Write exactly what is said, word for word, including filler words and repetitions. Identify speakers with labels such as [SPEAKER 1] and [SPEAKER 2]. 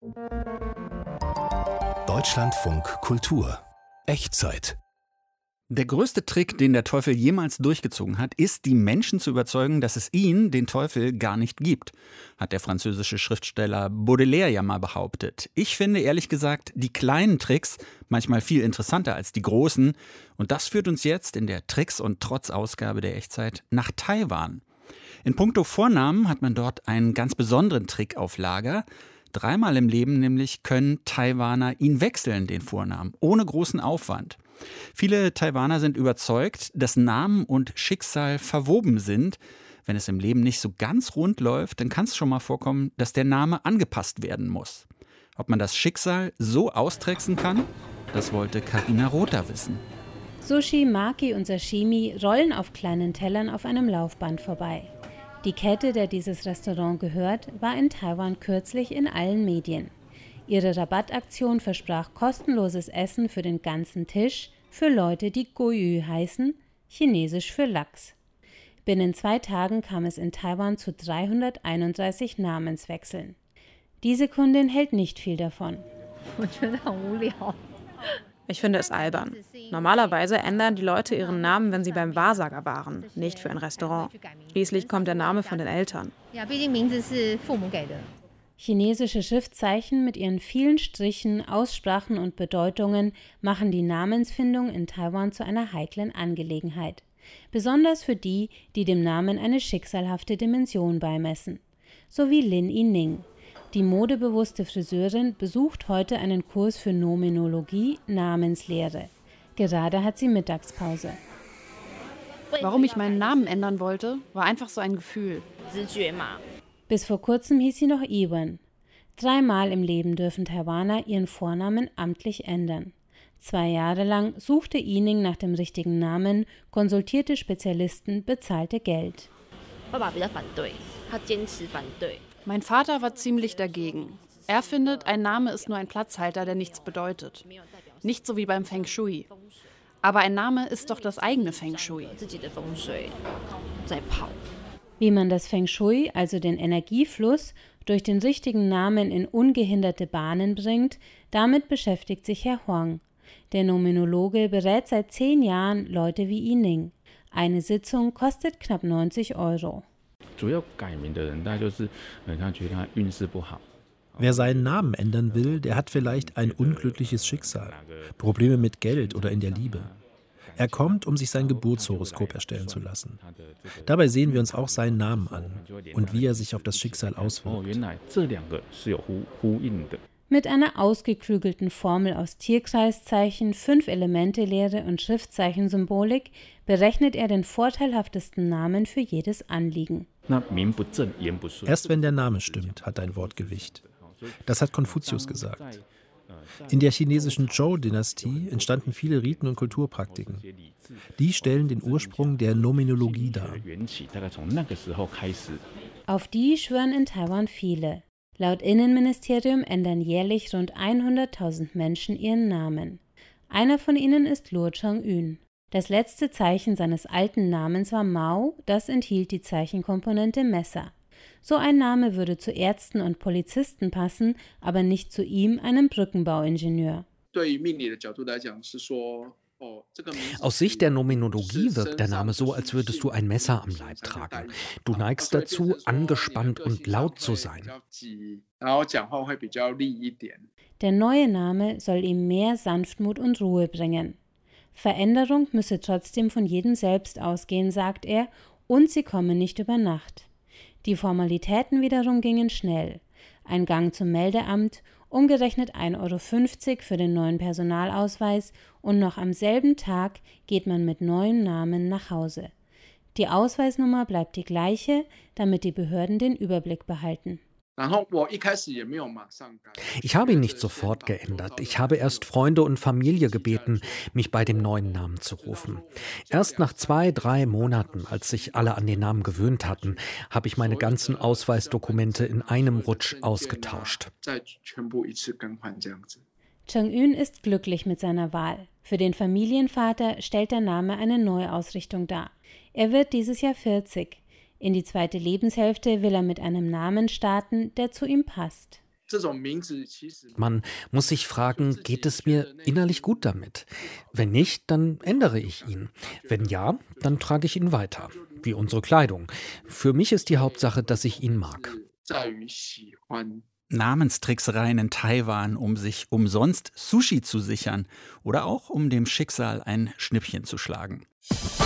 [SPEAKER 1] Deutschlandfunk Kultur Echtzeit.
[SPEAKER 2] Der größte Trick, den der Teufel jemals durchgezogen hat, ist, die Menschen zu überzeugen, dass es ihn, den Teufel, gar nicht gibt, hat der französische Schriftsteller Baudelaire ja mal behauptet. Ich finde ehrlich gesagt die kleinen Tricks manchmal viel interessanter als die großen. Und das führt uns jetzt in der Tricks- und Trotz-Ausgabe der Echtzeit nach Taiwan. In puncto Vornamen hat man dort einen ganz besonderen Trick auf Lager. Dreimal im Leben nämlich können Taiwaner ihn wechseln, den Vornamen, ohne großen Aufwand. Viele Taiwaner sind überzeugt, dass Namen und Schicksal verwoben sind. Wenn es im Leben nicht so ganz rund läuft, dann kann es schon mal vorkommen, dass der Name angepasst werden muss. Ob man das Schicksal so austricksen kann, das wollte Carina Rother wissen.
[SPEAKER 3] Sushi, Maki und Sashimi rollen auf kleinen Tellern auf einem Laufband vorbei. Die Kette, der dieses Restaurant gehört, war in Taiwan kürzlich in allen Medien. Ihre Rabattaktion versprach kostenloses Essen für den ganzen Tisch für Leute, die Goyu heißen, chinesisch für Lachs. Binnen zwei Tagen kam es in Taiwan zu dreihunderteinunddreißig Namenswechseln. Diese Kundin hält nicht viel davon.
[SPEAKER 4] Ich finde es albern. Normalerweise ändern die Leute ihren Namen, wenn sie beim Wahrsager waren, nicht für ein Restaurant. Schließlich kommt der Name von den Eltern.
[SPEAKER 3] Chinesische Schriftzeichen mit ihren vielen Strichen, Aussprachen und Bedeutungen machen die Namensfindung in Taiwan zu einer heiklen Angelegenheit. Besonders für die, die dem Namen eine schicksalhafte Dimension beimessen. So wie Lin Yining. Die modebewusste Friseurin besucht heute einen Kurs für Nominologie, Namenslehre. Gerade hat sie Mittagspause.
[SPEAKER 4] Warum ich meinen Namen ändern wollte, war einfach so ein Gefühl.
[SPEAKER 3] Bis vor kurzem hieß sie noch Iwan. Dreimal im Leben dürfen Taiwaner ihren Vornamen amtlich ändern. Zwei Jahre lang suchte Yining nach dem richtigen Namen, konsultierte Spezialisten, bezahlte Geld.
[SPEAKER 4] Mein Vater war ziemlich dagegen. Er findet, ein Name ist nur ein Platzhalter, der nichts bedeutet. Nicht so wie beim Feng Shui. Aber ein Name ist doch das eigene Feng Shui.
[SPEAKER 3] Wie man das Feng Shui, also den Energiefluss, durch den richtigen Namen in ungehinderte Bahnen bringt, damit beschäftigt sich Herr Huang. Der Nominologe berät seit zehn Jahren Leute wie Yining. Eine Sitzung kostet knapp neunzig Euro.
[SPEAKER 5] Wer seinen Namen ändern will, der hat vielleicht ein unglückliches Schicksal, Probleme mit Geld oder in der Liebe. Er kommt, um sich sein Geburtshoroskop erstellen zu lassen. Dabei sehen wir uns auch seinen Namen an und wie er sich auf das Schicksal auswirkt.
[SPEAKER 3] Mit einer ausgeklügelten Formel aus Tierkreiszeichen, Fünf-Elemente-Lehre und Schriftzeichensymbolik berechnet er den vorteilhaftesten Namen für jedes Anliegen.
[SPEAKER 5] Erst wenn der Name stimmt, hat ein Wort Gewicht. Das hat Konfuzius gesagt. In der chinesischen Zhou-Dynastie entstanden viele Riten und Kulturpraktiken. Die stellen den Ursprung der Nominologie dar.
[SPEAKER 3] Auf die schwören in Taiwan viele. Laut Innenministerium ändern jährlich rund hunderttausend Menschen ihren Namen. Einer von ihnen ist Luo Cheng-yun. Das letzte Zeichen seines alten Namens war Mao, das enthielt die Zeichenkomponente Messer. So ein Name würde zu Ärzten und Polizisten passen, aber nicht zu ihm, einem Brückenbauingenieur.
[SPEAKER 6] Aus Sicht der Nominologie wirkt der Name so, als würdest du ein Messer am Leib tragen. Du neigst dazu, angespannt und laut zu sein.
[SPEAKER 3] Der neue Name soll ihm mehr Sanftmut und Ruhe bringen. Veränderung müsse trotzdem von jedem selbst ausgehen, sagt er, und sie komme nicht über Nacht. Die Formalitäten wiederum gingen schnell. Ein Gang zum Meldeamt, umgerechnet ein Euro fünfzig für den neuen Personalausweis und noch am selben Tag geht man mit neuem Namen nach Hause. Die Ausweisnummer bleibt die gleiche, damit die Behörden den Überblick behalten.
[SPEAKER 6] Ich habe ihn nicht sofort geändert. Ich habe erst Freunde und Familie gebeten, mich bei dem neuen Namen zu rufen. Erst nach zwei, drei Monaten, als sich alle an den Namen gewöhnt hatten, habe ich meine ganzen Ausweisdokumente in einem Rutsch ausgetauscht.
[SPEAKER 3] Cheng-yun ist glücklich mit seiner Wahl. Für den Familienvater stellt der Name eine Neuausrichtung dar. Er wird dieses Jahr vierzig. In die zweite Lebenshälfte will er mit einem Namen starten, der zu ihm passt.
[SPEAKER 6] Man muss sich fragen, geht es mir innerlich gut damit? Wenn nicht, dann ändere ich ihn. Wenn ja, dann trage ich ihn weiter, wie unsere Kleidung. Für mich ist die Hauptsache, dass ich ihn mag.
[SPEAKER 2] Namenstricksereien in Taiwan, um sich umsonst Sushi zu sichern oder auch um dem Schicksal ein Schnippchen zu schlagen.